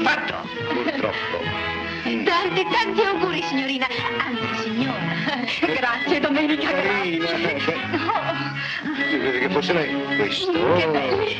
fatto. Purtroppo. Tanti auguri, signorina. Anzi, signora. Grazie, Domenica. Carina. Grazie. Che fosse lei questo? Che belli.